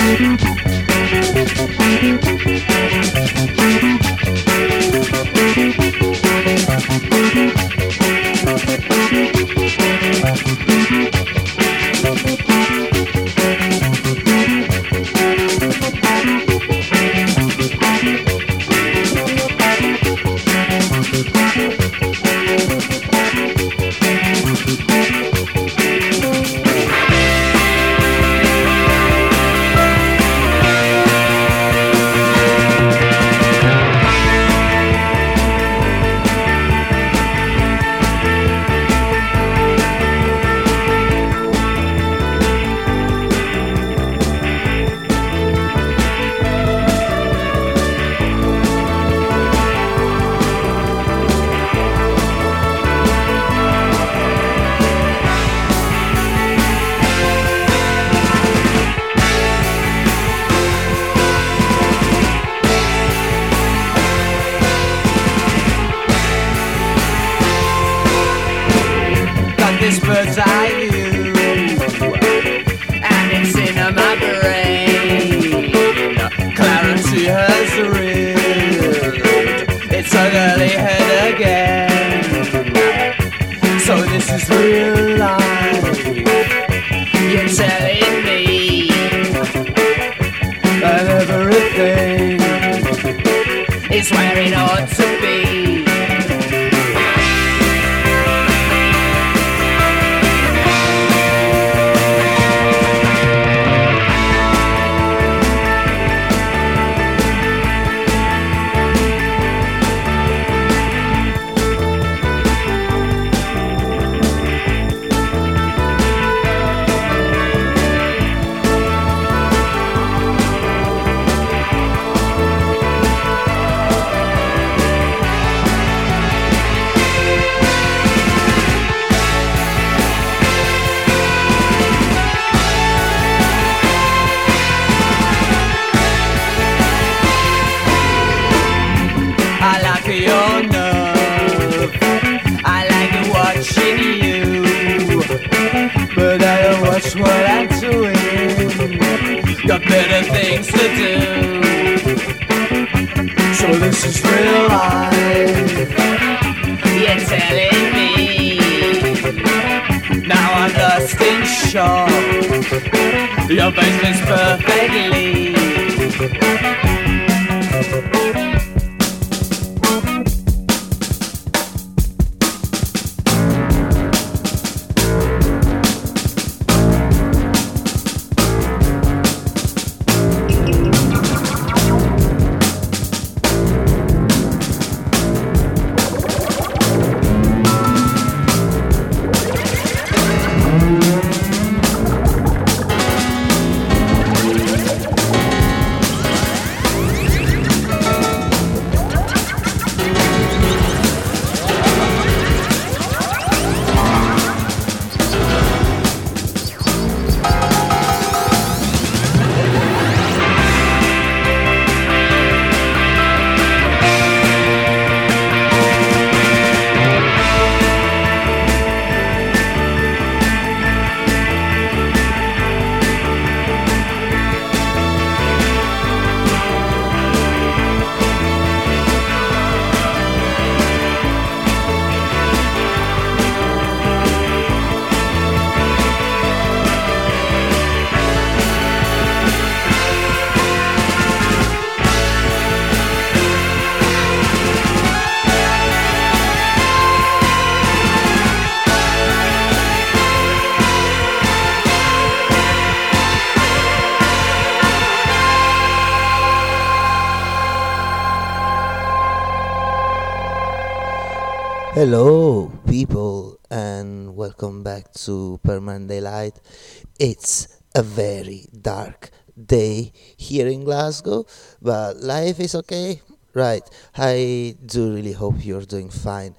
This bird's eye view, and it's in my brain. Clarity has reared its ugly head again. So this is real life. You're telling me that everything is where it ought to be. Watch what I'm doing. Got better things to do. So this is real life. You're telling me. Now I'm lost in shock. Your face fits perfectly. Hello, people, and welcome back to Permanent Daylight. It's a very dark day here in Glasgow, but life is okay. Right, I do really hope you're doing fine.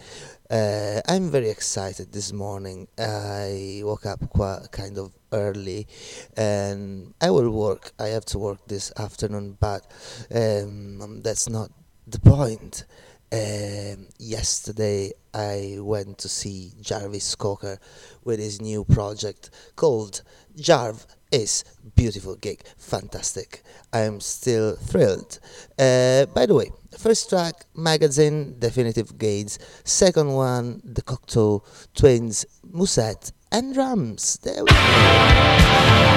I'm very excited this morning. I woke up quite kind of early, and I have to work this afternoon, but that's not the point. Yesterday I went to see Jarvis Cocker with his new project called Jarv is beautiful gig, fantastic. I am still thrilled. By the way, first track, Magazine, Definitive Gates. Second one, The Cocteau Twins, Musette and drums. There we go.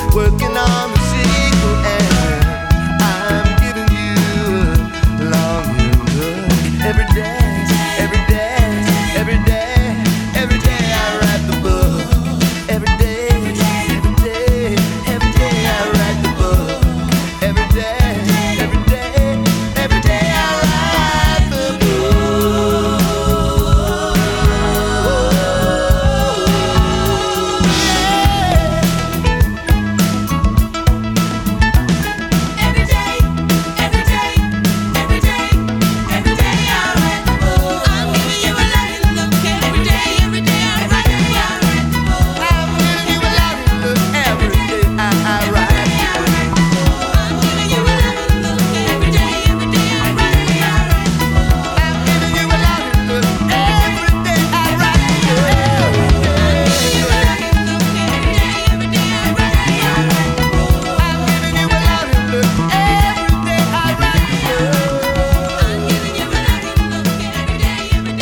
working on the sequel, and I'm giving you a longing look every day, every day, every day, every day I write the book, every day, every day, every day I write the book, every day, every day, every day I write the book. Every day, every day, every day, every day I write the book. I'm giving you a loving look every day I write the book. I'm giving you a loving look every day I write the book. I'm giving you a loving look every day I write the book. I'm giving you a loving look every day I write the book. I'm giving you a loving look every day I write the book. I'm giving you a loving look every day I write the book. I'm giving you a loving look every day I write the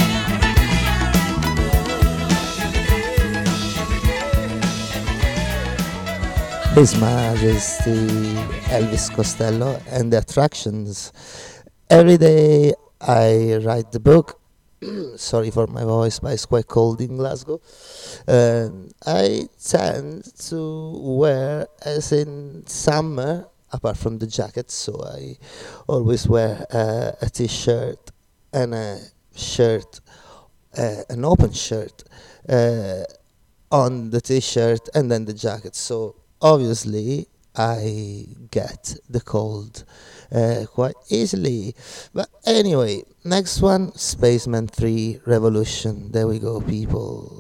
His Majesty Elvis Costello and the Attractions. Every day I write the book. Sorry for my voice, but it's quite cold in Glasgow. I tend to wear, as in summer, apart from the jacket, so I always wear a t-shirt and a shirt, an open shirt on the t-shirt and then the jacket. So obviously I get the cold quite easily. But anyway, next one, Spaceman 3 Revolution. There we go, people.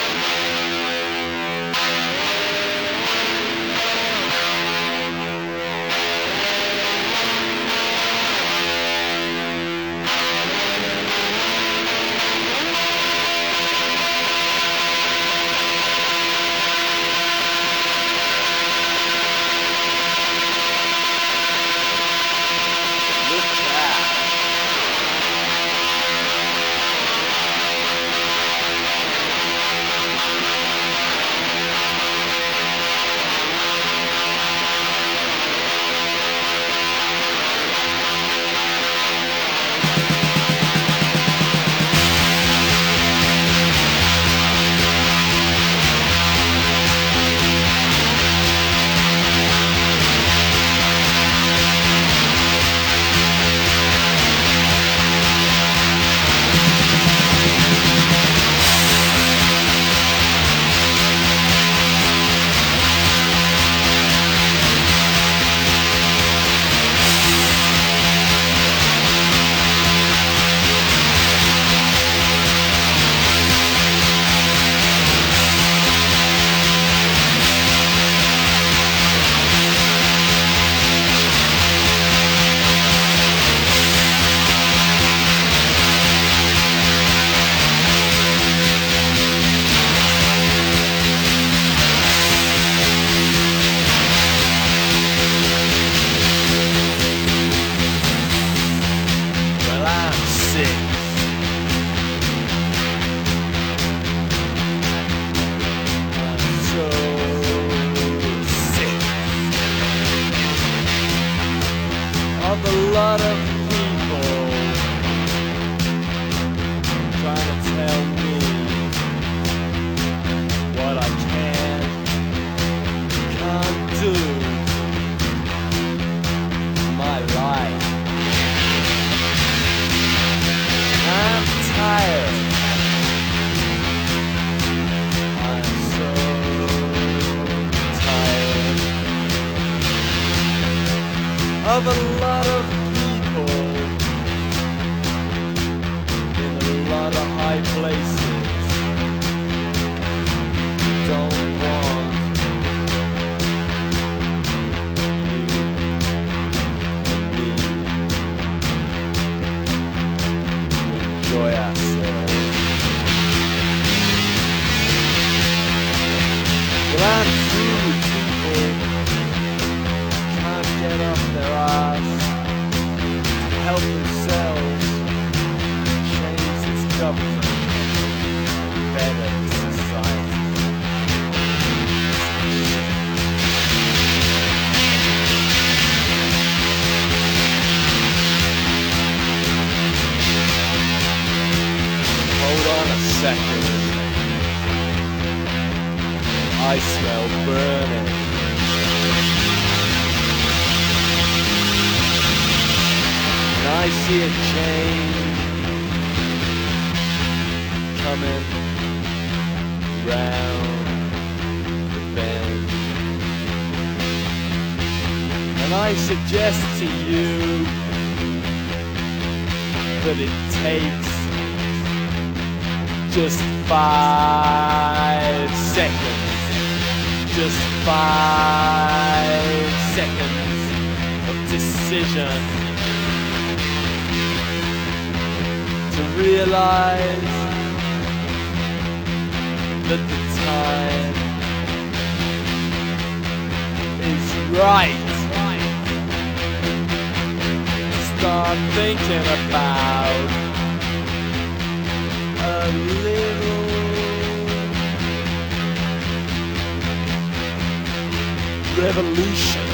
lot of people trying to tell me what I can, can't do in my life. I'm tired. I'm so tired of a lot of people in a lot of high places who don't want you and me to enjoy ourselves. Well, I'm through with people can't get off their ass to help themselves change this government better society. I smell burning. And I see a change coming round the bend. And I suggest to you that it takes just 5 seconds. Just 5 seconds of decision to realize that the time is right. Start thinking about a little revolution.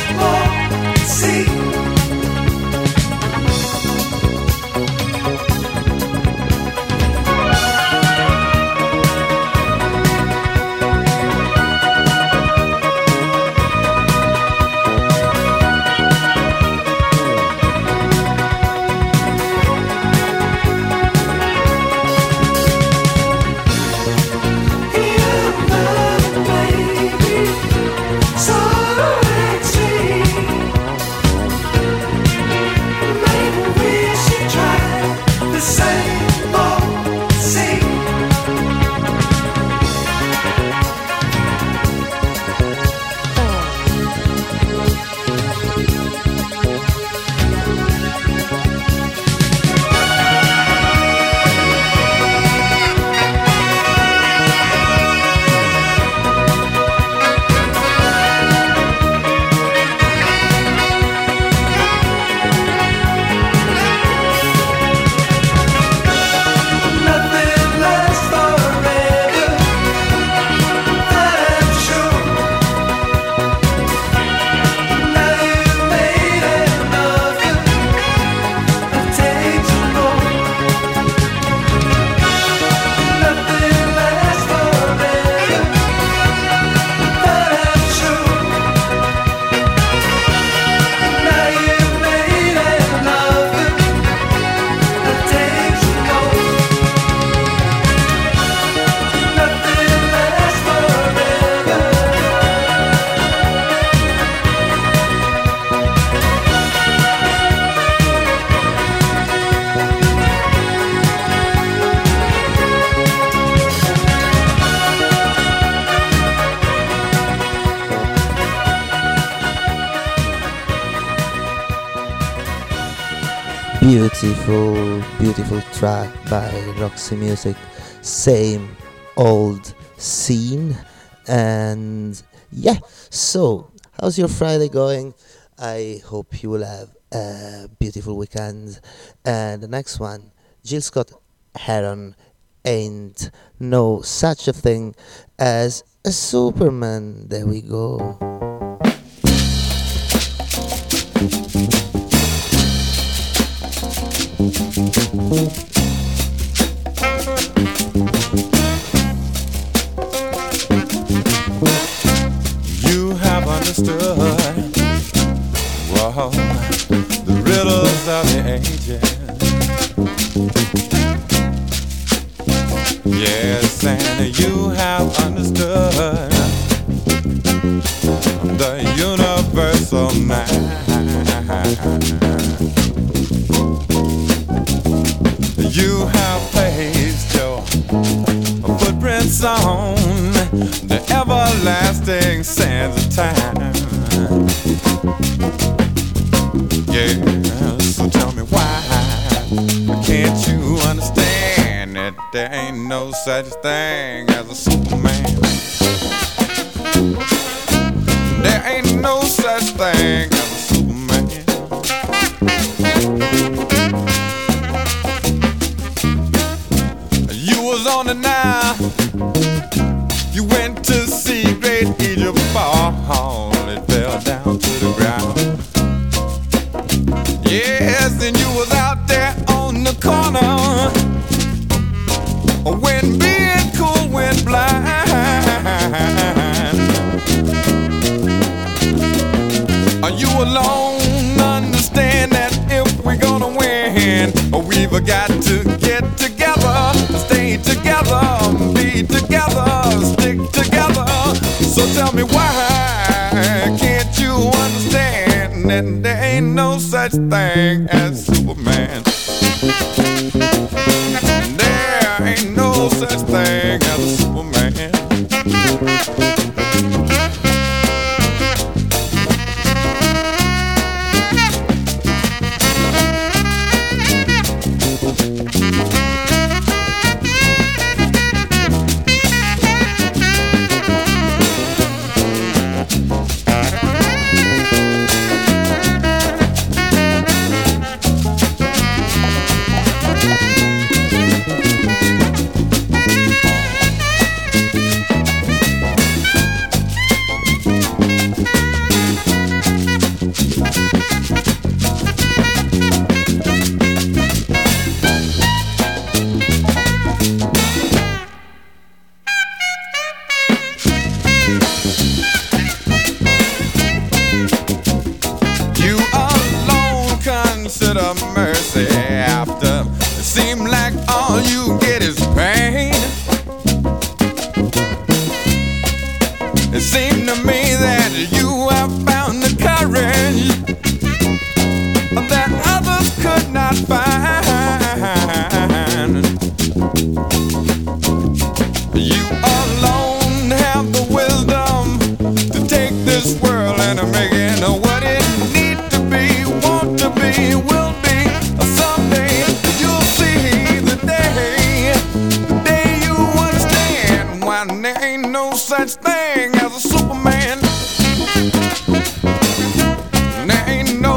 Beautiful, beautiful track by Roxy Music, Same Old Scene. And yeah, so how's your Friday going? I hope you will have a beautiful weekend. And the next one, Jill Scott Heron, Ain't No Such a Thing as a Superman. There we go. You have understood, whoa, the riddles of the ages. Yes, and you have understood the universal mind. You have placed your footprints on the everlasting sands of time. Yeah, so tell me why can't you understand that there ain't no such thing as a Superman? There ain't no such thing as a Superman. You was on the Nile, you went to see great Egypt fall. It fell down to the ground. Yes, and you was out there on the corner when being cool went blind. You alone understand that if we're gonna win, we've got to get together, stay together, be together, stick together. So tell me why can't you understand that there ain't no such thing as Superman? There ain't no such thing as a Superman.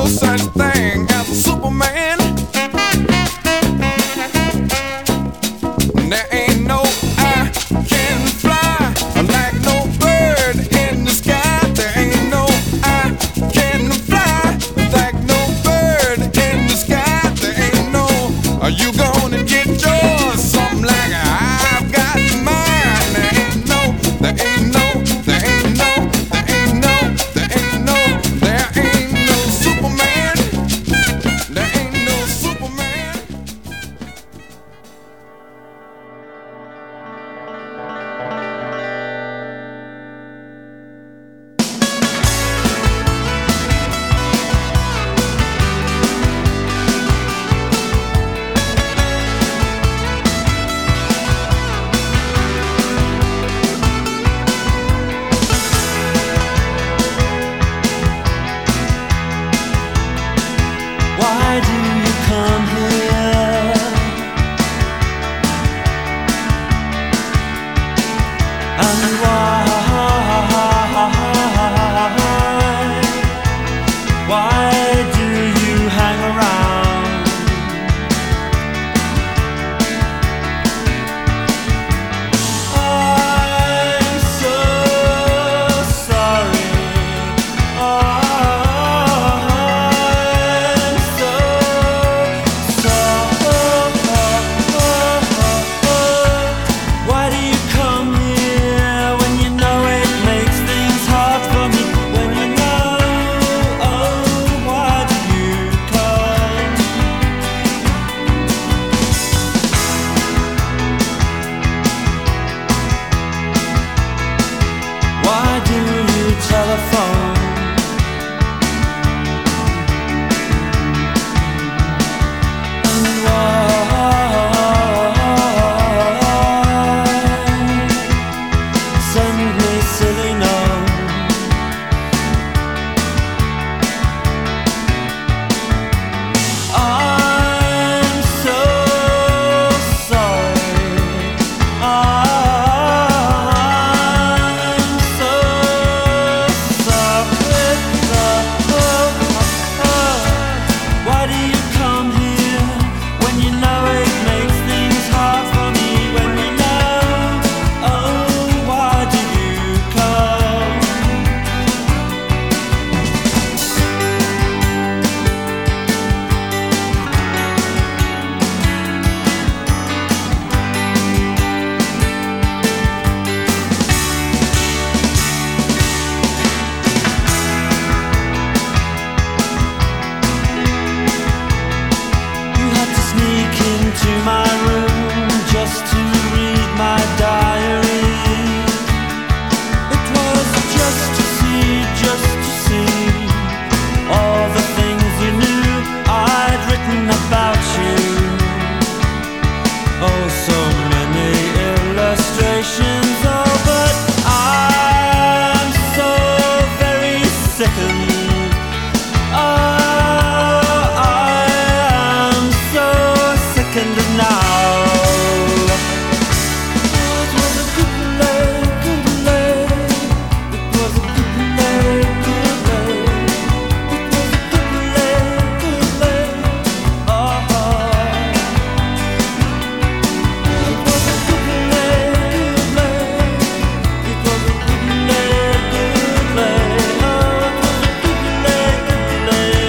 no such thing as a Superman. There ain't no I can fly like no bird in the sky. There ain't no I can fly like no bird in the sky. There ain't no are you gonna get yours? Something like I've got mine. There ain't no, there ain't no, there ain't no, there ain't no, there ain't no, there ain't no Superman. There ain't no Superman. Why do you come here? And why do you hang around? I'm so sorry. Why do you come here when you know it makes things hard for me? When you know, oh, why do you come? Why do you telephone? And send me silly notes? I'm so sorry. I'm so sorry. Why do you come here when you know it makes things hard for me? When you know, oh, why do you come? You had to sneak into my room just to read my diary. It was just to see all the things you knew I'd written about you. Oh, so many illustrations. Oh, but I'm so very sickened. I am so sickened now. It was a good play, good play. It was a good play, good play. It was a good play, good play. Oh, it was a good play, good play. It was a good play, good play. Oh, it was a good play, good play.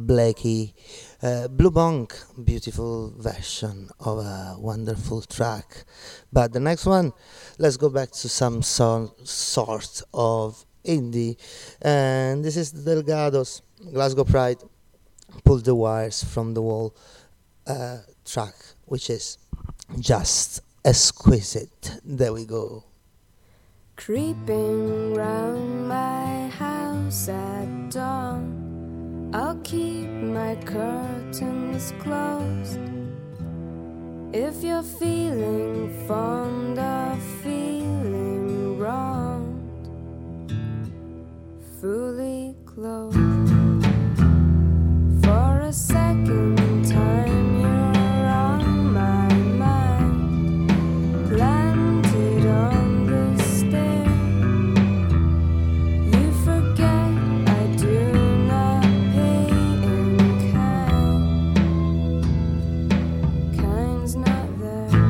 Blakey, Blue Bonk, beautiful version of a wonderful track. But the next one, let's go back to some sort of indie, and this is the Delgados, Glasgow Pride, Pull the Wires from the Wall track, which is just exquisite. There we go. Creeping round my house at dawn, I'll keep my curtains closed. If you're feeling fond of feeling wronged, fully clothed. For a second time you're on my mind, planted on the stair. You forget I do not pay in kind. Kind's not there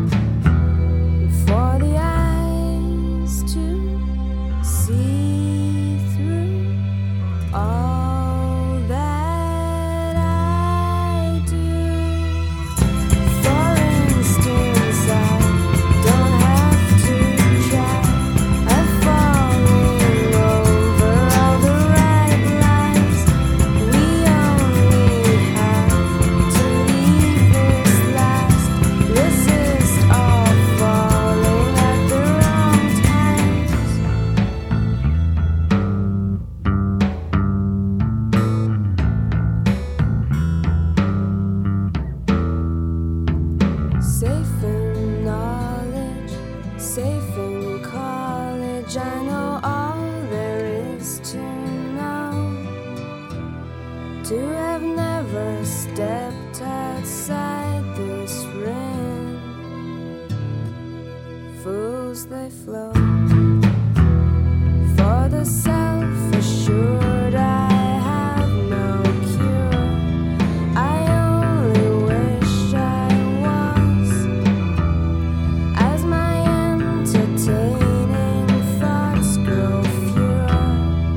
for the eyes to see through all that I do. For instance, I don't have to try. I'm falling over all the right lines. We only have to leave this last. Resist all falling at the wrong times. Safe in knowledge, safe in college. I know all there is to know. To have never stepped outside this ring. Fools they flow. For the self-assured, I have no cure. I only wish I was, as my entertaining thoughts grow fewer,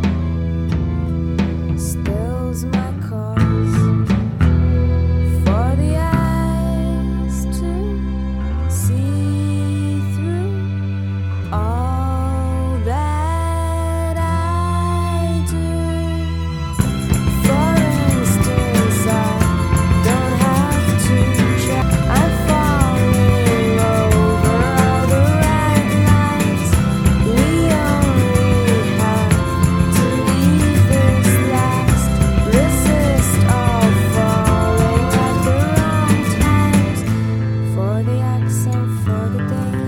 stills my cause. For the eyes to see through all that I do. For instance, I don't have to try. I'm falling over all the right lines. We only have to leave this last. Resist all falling at the wrong times. For the accent, for the day.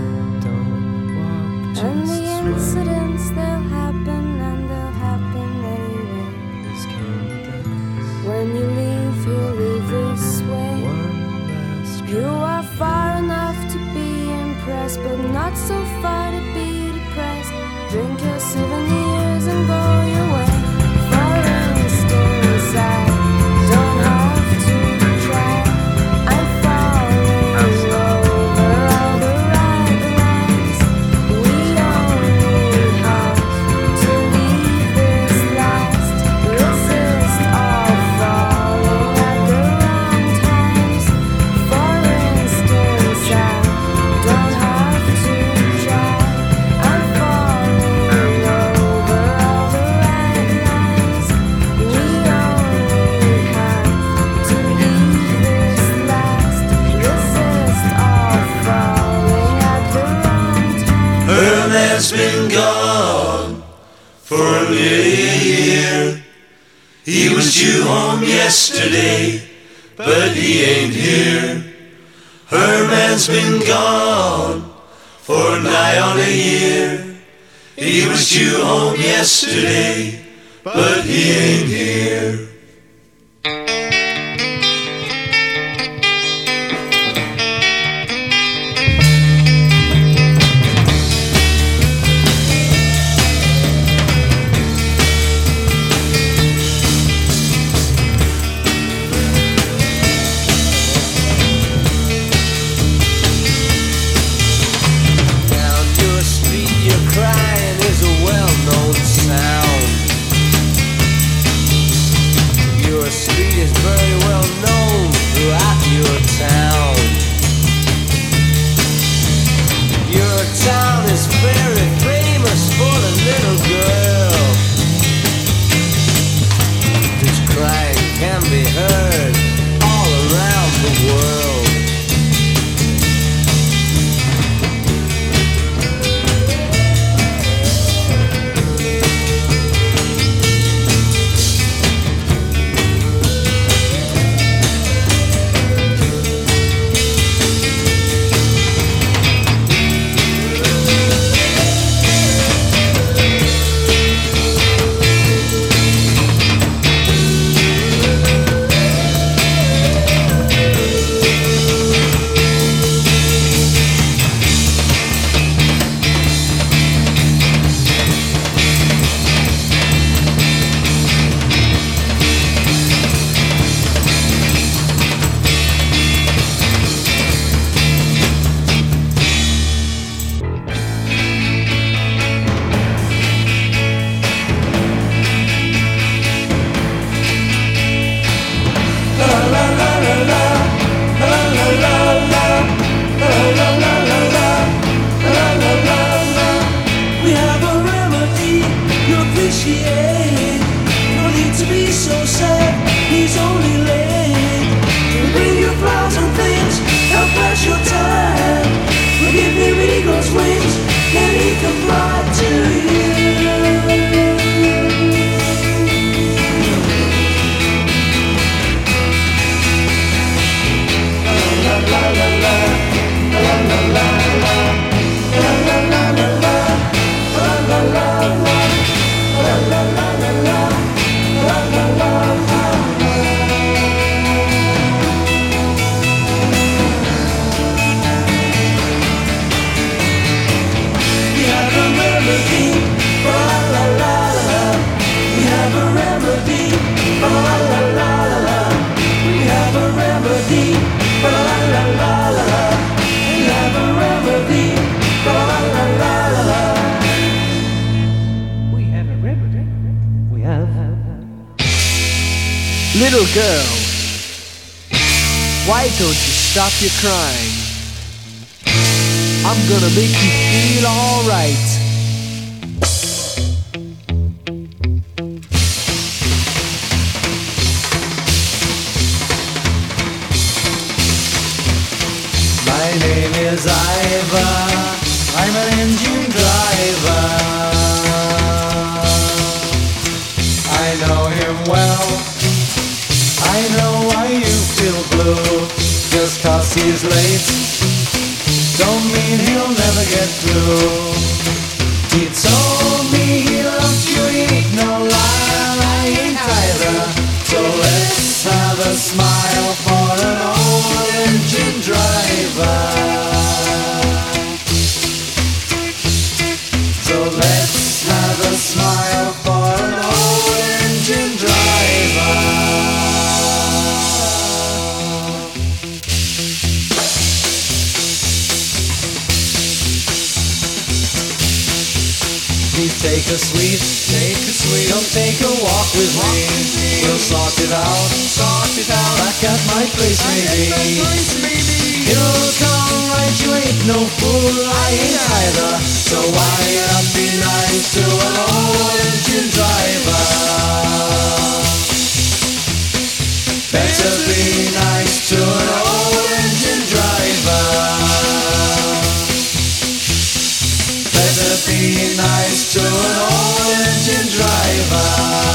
And the incidents, they'll happen and they'll happen anyway. When you leave this way. You are far enough to be impressed, but not so far to be depressed. Drink your souvenirs and go your way. For instance, I don't have to try. I'm falling over all the right lines. We only have to leave this last. Resist all falling at the wrong times. For instance, I don't have to try. I'm falling over all the right lines. We only have to leave this last. Resist all falling at the wrong times. Her man's been gone for nearly a year. He was due home yesterday, but he ain't here. Her man's been gone for nigh on a year. He was due home yesterday, but he ain't here. Down your street, your crying is a well-known sound. town is very famous for the little girl whose crying can be heard all around the world. Little girl, why don't you stop your crying? I'm gonna make you feel alright. My name is Ivor, I'm an engine driver. I know him well, I know why you feel blue. Just 'cause he's late don't mean he'll never get through. He told me he loves you, he ain't no liar, I ain't either. So let's have a smile for an old engine driver. So let's have a smile for an old engine driver. Please take a sweet, come take a walk with me. We'll sort it out, back at my place maybe. It'll come right, you ain't no fool, I ain't either. So why not be nice to an old engine driver? Better be nice to an old engine driver. Better be nice to an old engine driver.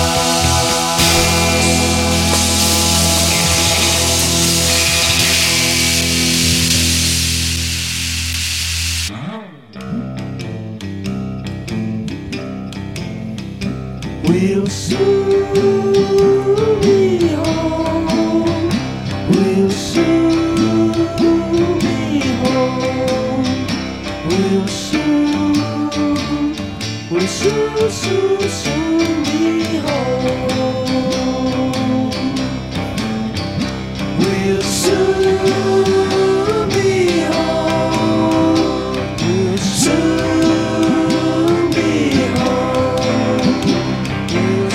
We'll soon be home. We'll soon be home. We'll soon be home. We'll soon be home. We'll soon be home. We'll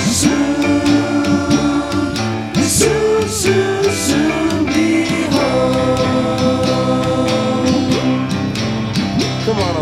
soon be home. Come on, old Hall.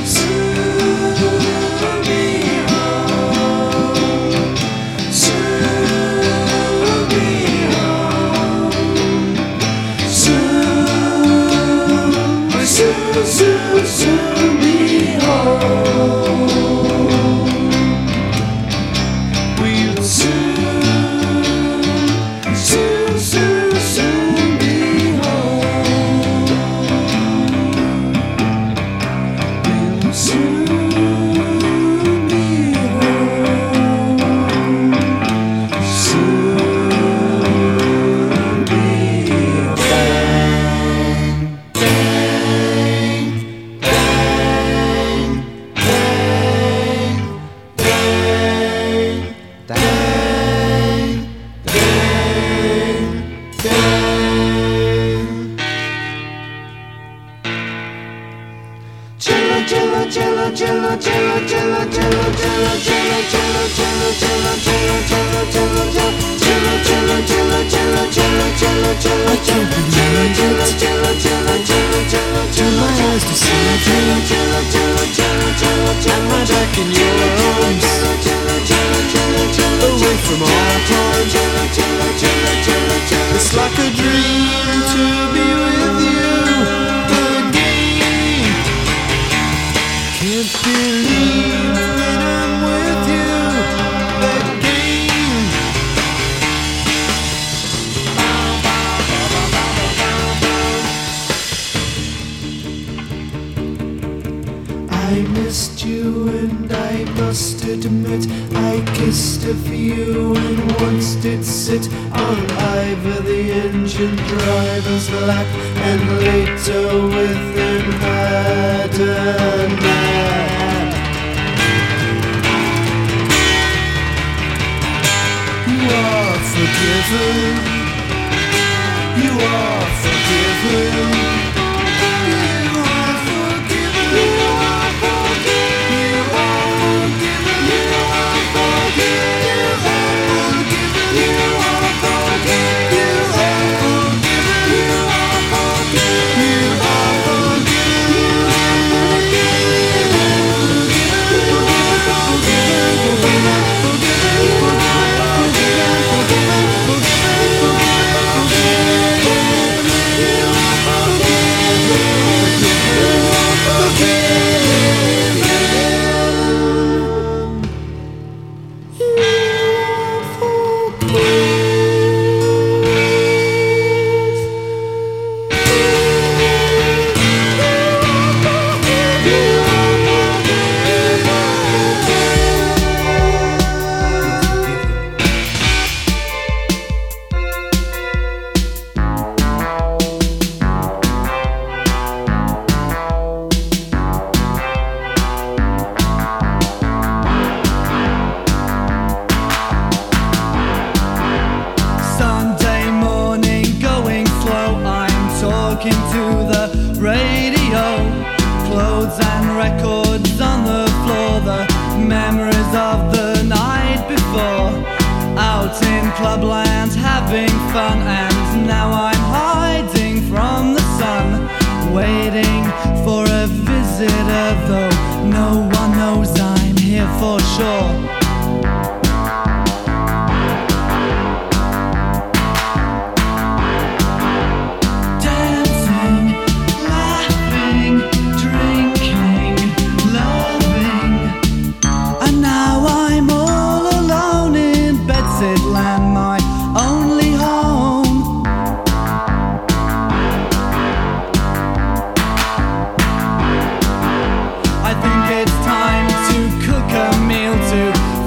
I think it's time to cook a meal to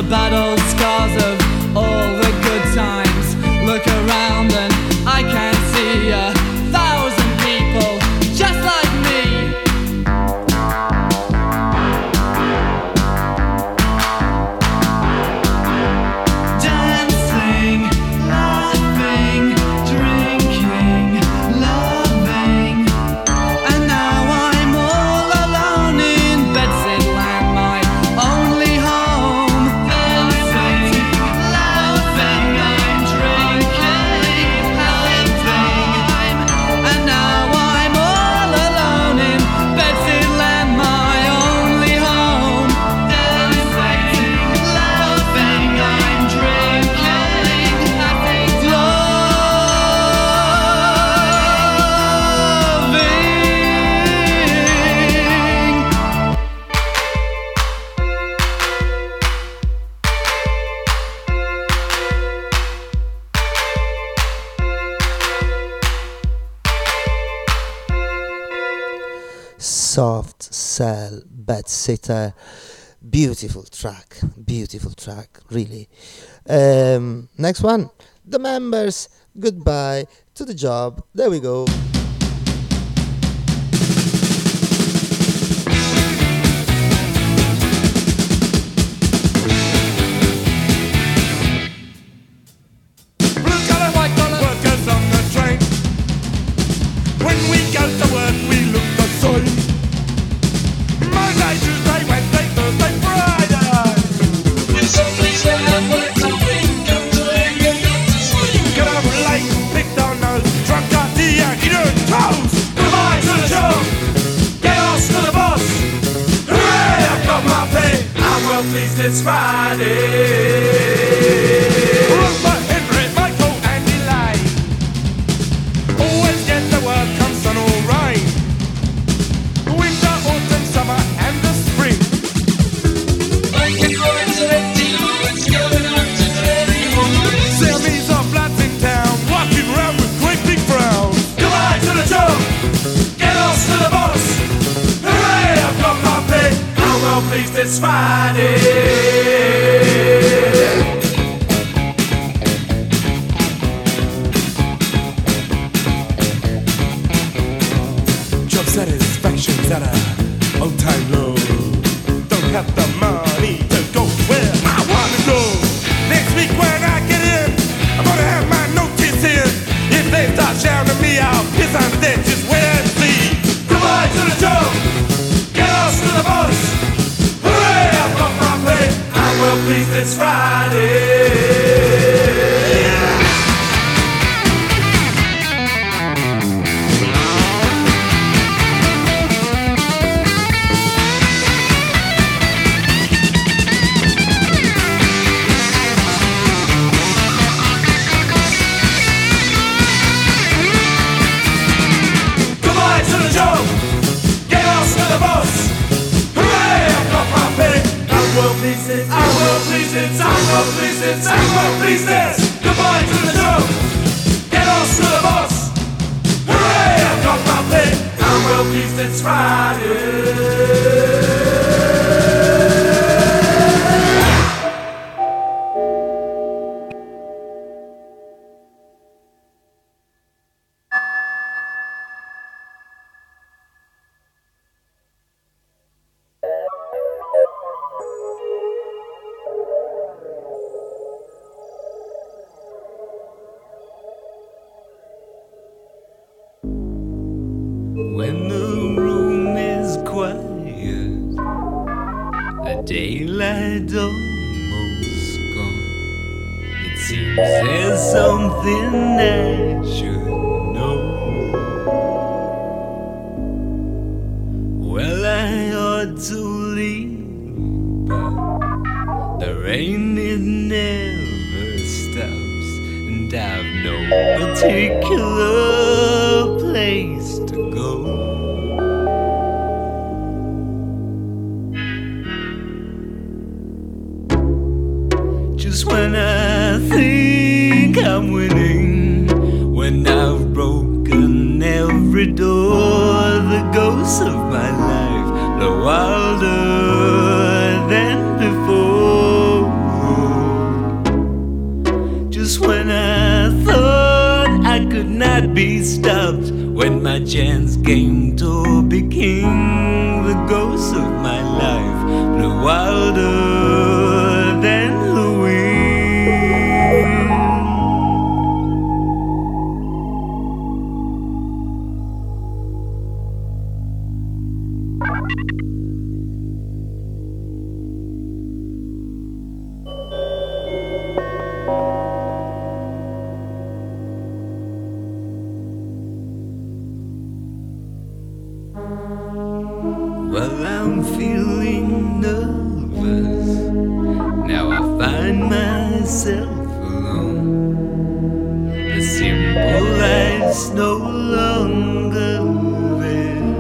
bad old scars of all the good times. Look around and I can see 1,000 people just like me. Dancing, laughing, drinking, loving. And now I'm all alone in Bedsidland, my only home. Dancing, laughing, I'm drinking, loving. And now I'm all alone in Bedsidland, my only home. Dancing, laughing, I'm drinking, loving. Soft Cell Bedsitter. Beautiful track, really. Next one, The Members, Goodbye to the Job. There we go. Blue collar, white collar, workers on the train. When we go to work, we look the same. Monday, Tuesday, Wednesday, Thursday, Friday. Get up late, picked on nose, drunk at the Yankee doing toes. Goodbye to the job, get off to the boss. Hooray, I've got my pay. I'm well pleased it's Friday. Rupert, Henry, Michael, and Elaine. Always get the work, come sun or rain. Winter, autumn, summer, and the spring. Series of lads in town, walking round with great big frowns. Goodbye to the job, get off to the boss. Hooray, I've got my pay. I'm well pleased it's Friday. Job satisfaction's at a all-time low. Don't have the money to go where I wanna go. Next week when I get in, I'm gonna have my notice in. If they start shouting at me, I'll piss on the deck, just wait and see. Goodbye to the job, get off to the boss. Hooray, I've got my pay. I'm well pleased it's Friday. Goodbye to the job, get off to the boss. Hooray, I've got my pay. I'm well pleased it's, I'm well pleased it's, I'm well pleased it's, I'm well pleased it's. Goodbye to the job, get off to the boss. Hooray, I've got my pay. I'm well pleased it's Friday. When the room is quiet, the daylight almost gone. It seems there's something I should know. Well, I ought to leave, but the rain it never stops, and I've no particular place to go. Just when I think I'm winning, when I've broken every door, the ghosts of my life blow wilder than before. Just when I thought I could not be stopped, when my chance came to be king, the ghost of my life blew wilder than the wind. Well, I'm feeling nervous. Now I find myself alone. The simple life's no longer there.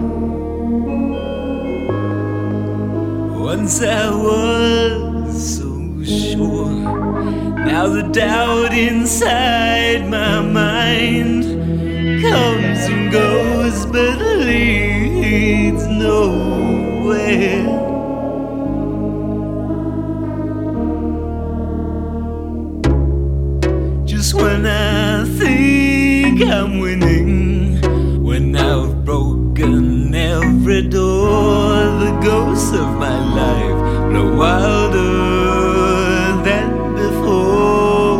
Once I was so sure. Now the doubt inside my mind comes and goes, but leads nowhere. Just when I think I'm winning, when I've broken every door, the ghosts of my life blow wilder than before.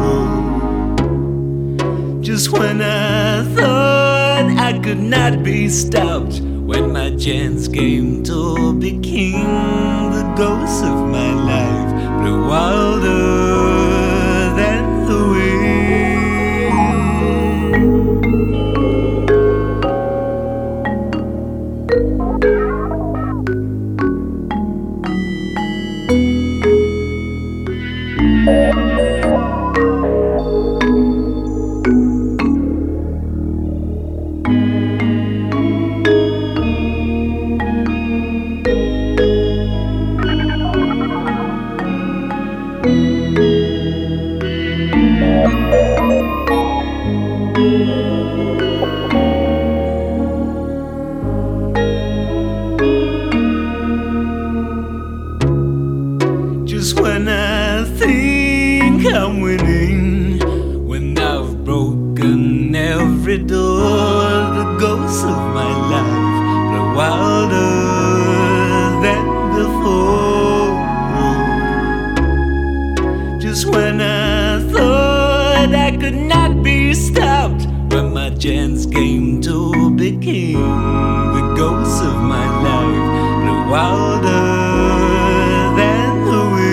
Just when I thought I could not be stopped, when my chance came to be king, the ghosts of my life blew wilder than the wind. Just when I think I'm winning, when I've broken every door, the ghosts of my life blow wilder than before. Just when I thought I could not be stopped, when my chance came to be king, the ghosts of my life blew wilder than the wind.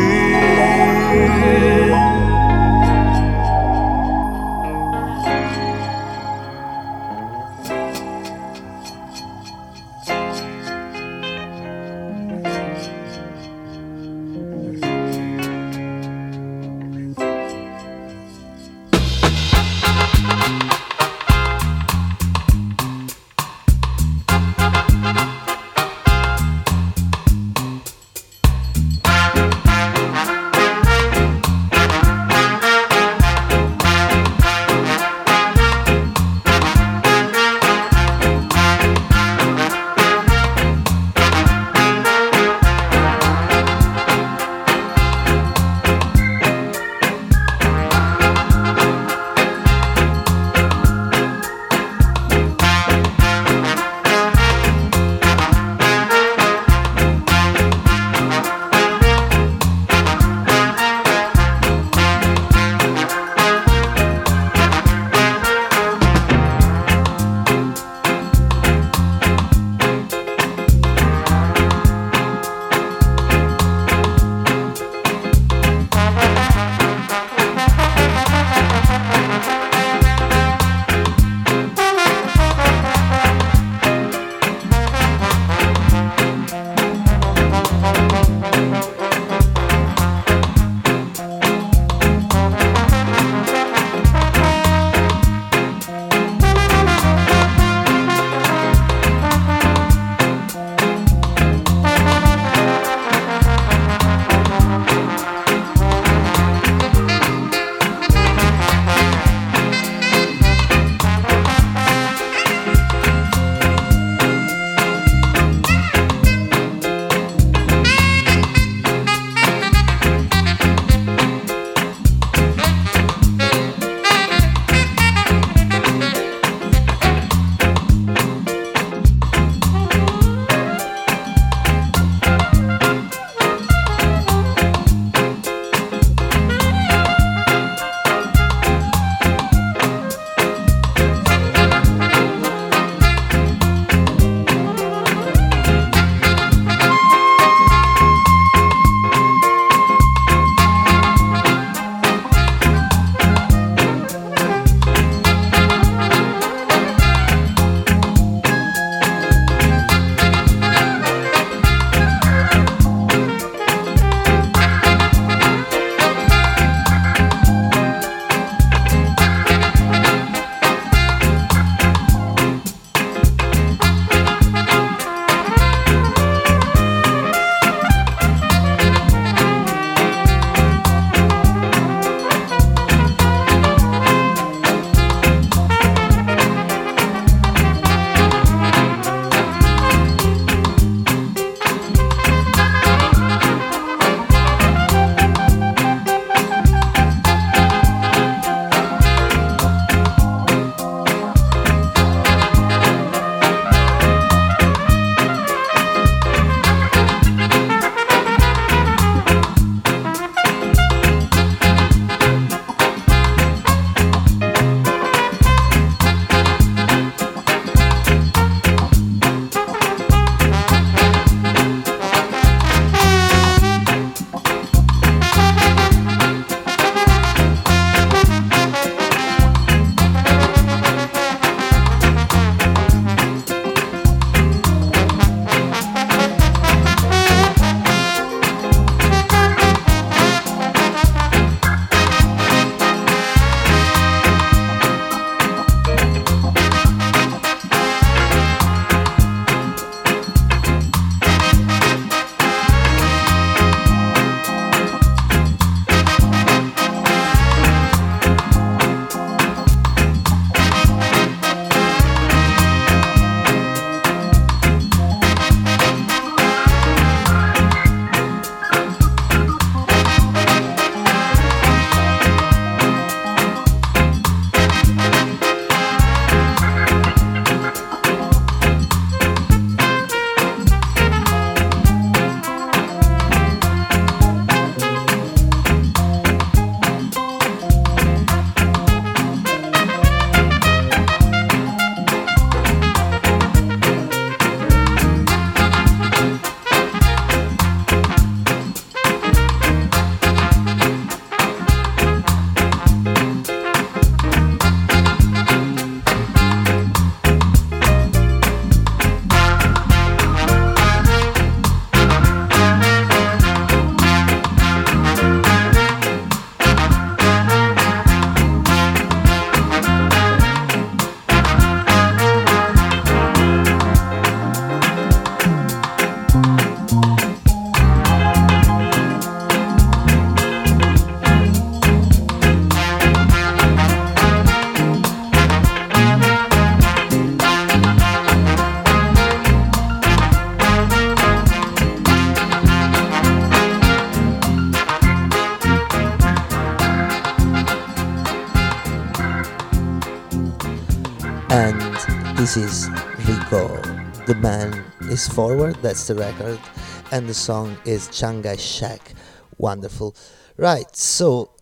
and this is Rico. The man is forward, that's the record, and the song is Shanghai Shack. Wonderful. Right, so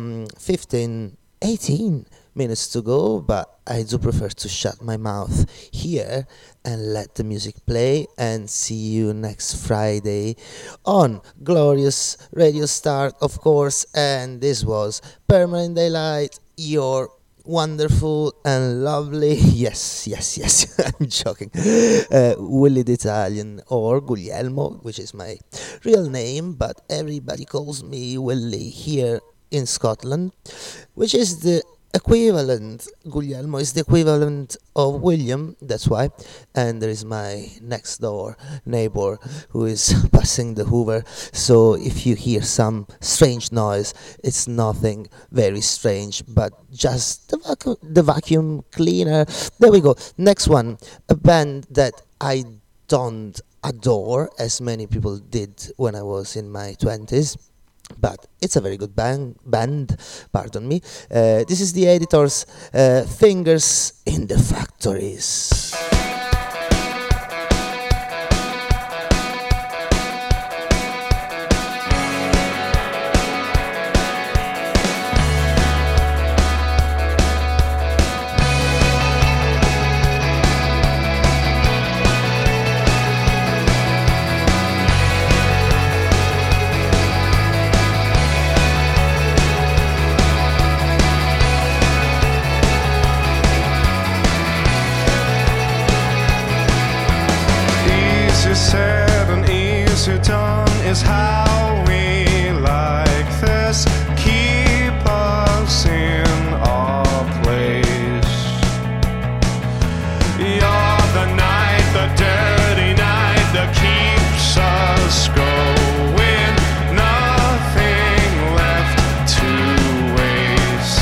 18 minutes to go, but I do prefer to shut my mouth here and let the music play, and see you next Friday on glorious Radio Start, of course. And this was Permanent Daylight, your wonderful and lovely, yes, I'm joking, Willie the Italian, or Guglielmo, which is my real name, but everybody calls me Willie here in Scotland, which is the equivalent. Guglielmo is the equivalent of William, that's why. And there is my next door neighbor who is passing the Hoover, so if you hear some strange noise, it's nothing very strange, but just the vacuum cleaner. There we go. Next one, a band that I don't adore as many people did when I was in my 20s, but it's a very good band, pardon me. This is the Editors, Fingers in the Factories. Said and easy done is how we like this. Keep us in our place. You're the night, the dirty night that keeps us going. Nothing left to waste.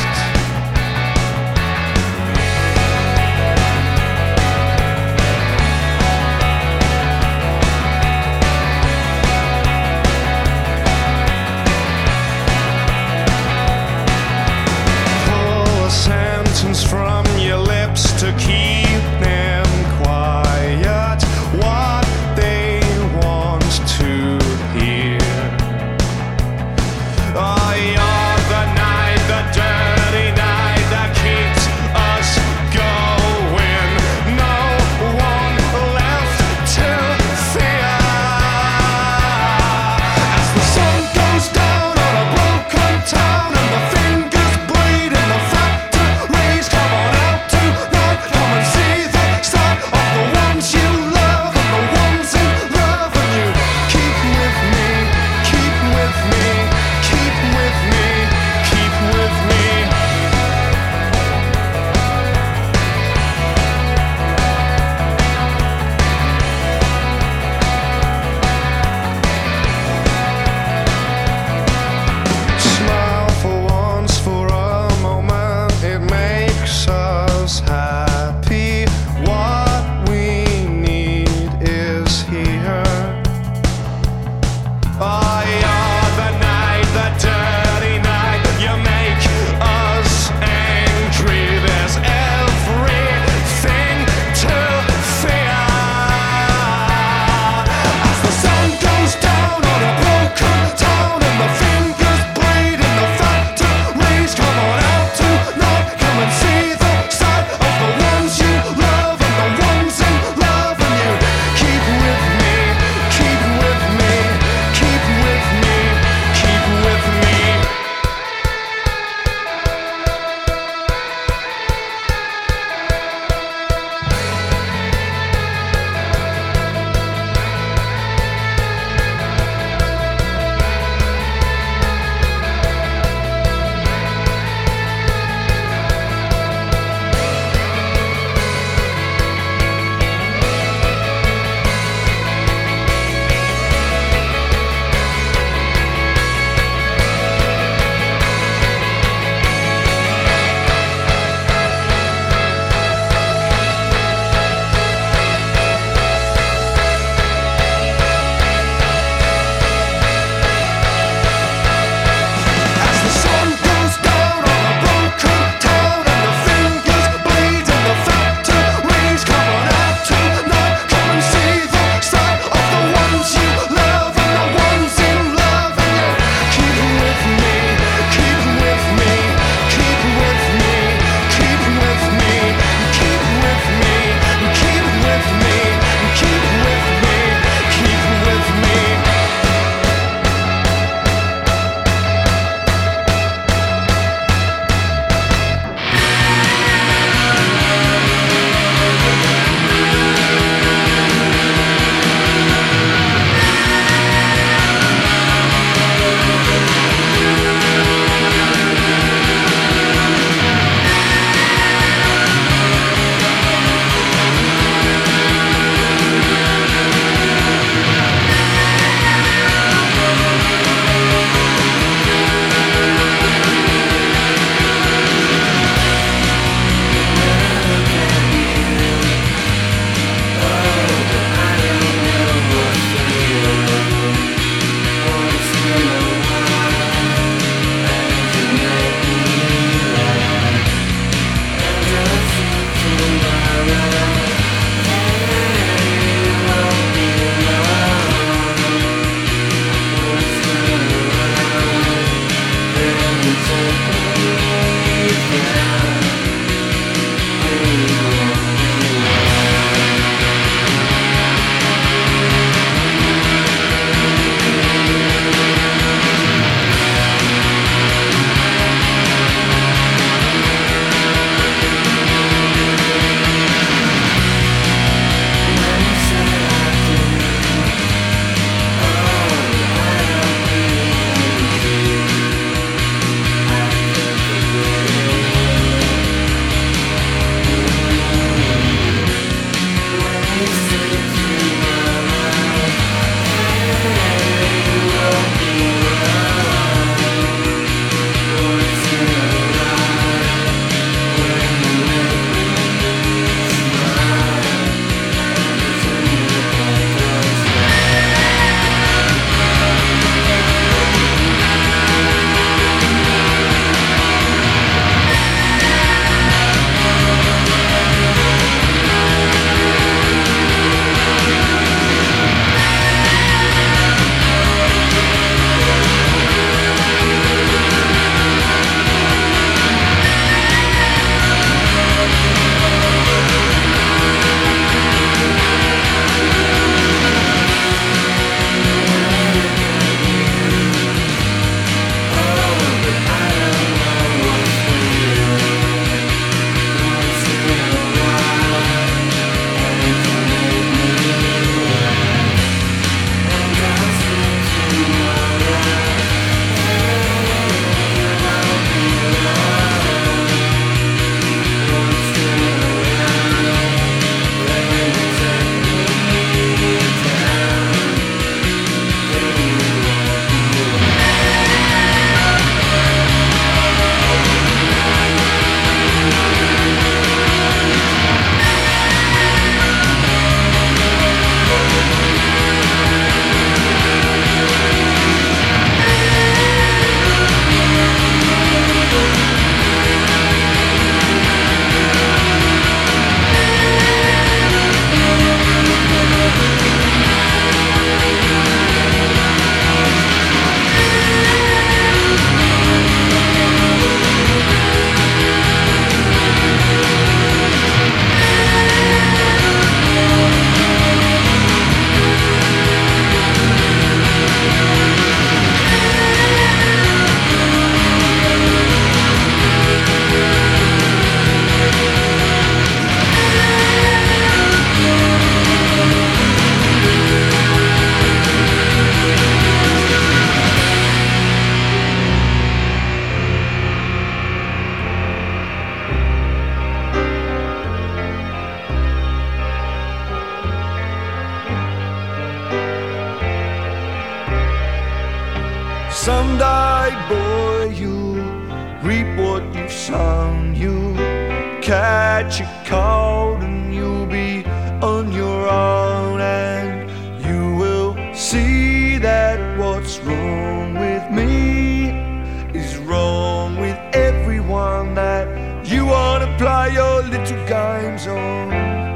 catch a cold and you'll be on your own, and you will see that what's wrong with me is wrong with everyone that you wanna play your little games on.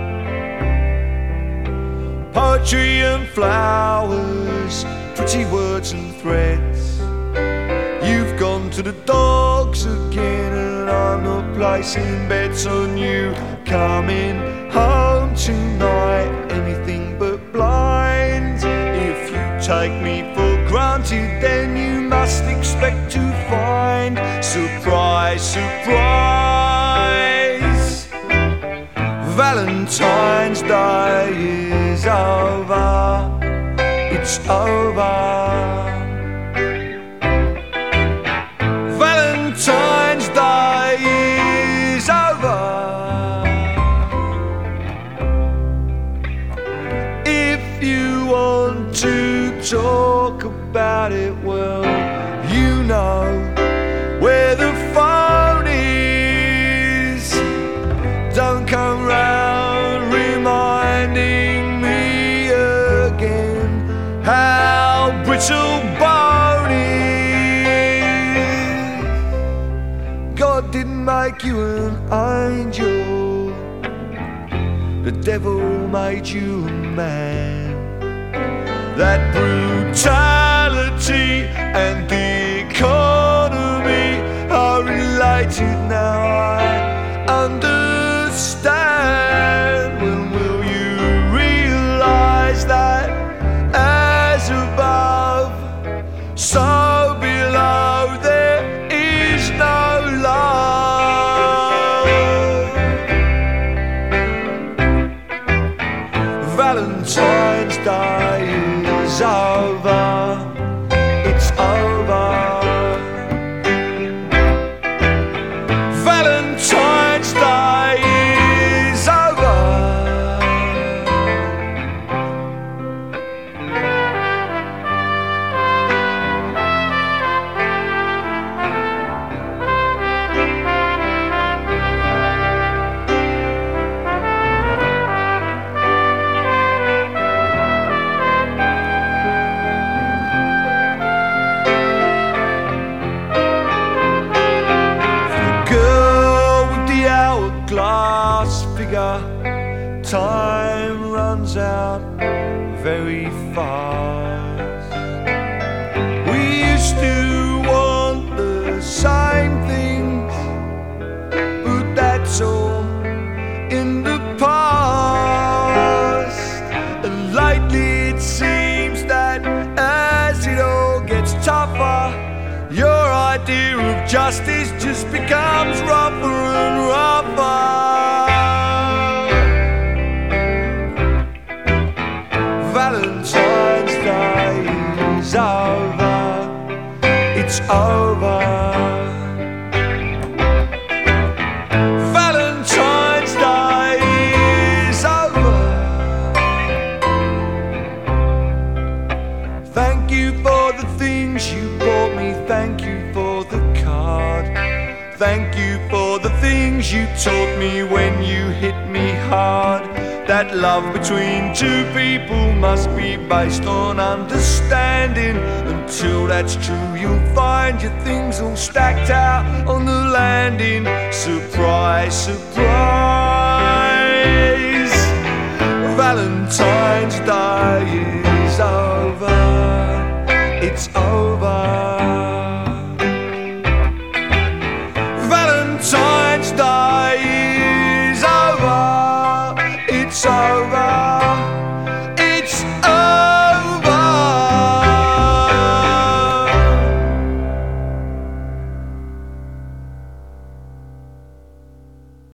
Poetry and flowers, pretty words and threads. You've gone to the dogs again, and I'm not placing bets on you coming home tonight. Anything but blind. If you take me for granted, then you must expect to find surprise, surprise. Valentine's Day is over. It's over. Valentine's Day is over. If you want to talk about it, well, you know where the phone is. Don't come round reminding me again how brittle bone is. God didn't make you an angel, the devil made you a man. That brutality and the economy are related now, I understand. When will you realize that as above, so below there is no love? Valentine's Day is over. It's over. Valentine's Day is over. Glass figure, time runs out very fast. We used to want the same things, but that's all in the past. And lately it seems that as it all gets tougher, your idea of justice just becomes rougher and rougher. Valentine's Day is over. It's over. Valentine's Day is over. Thank you for the things you bought me. Thank you for the card. Thank you for the things you taught me when you hit me hard. That love between two people must be based on understanding. Until that's true, you'll find your things all stacked out on the landing. Surprise, surprise. Valentine's Day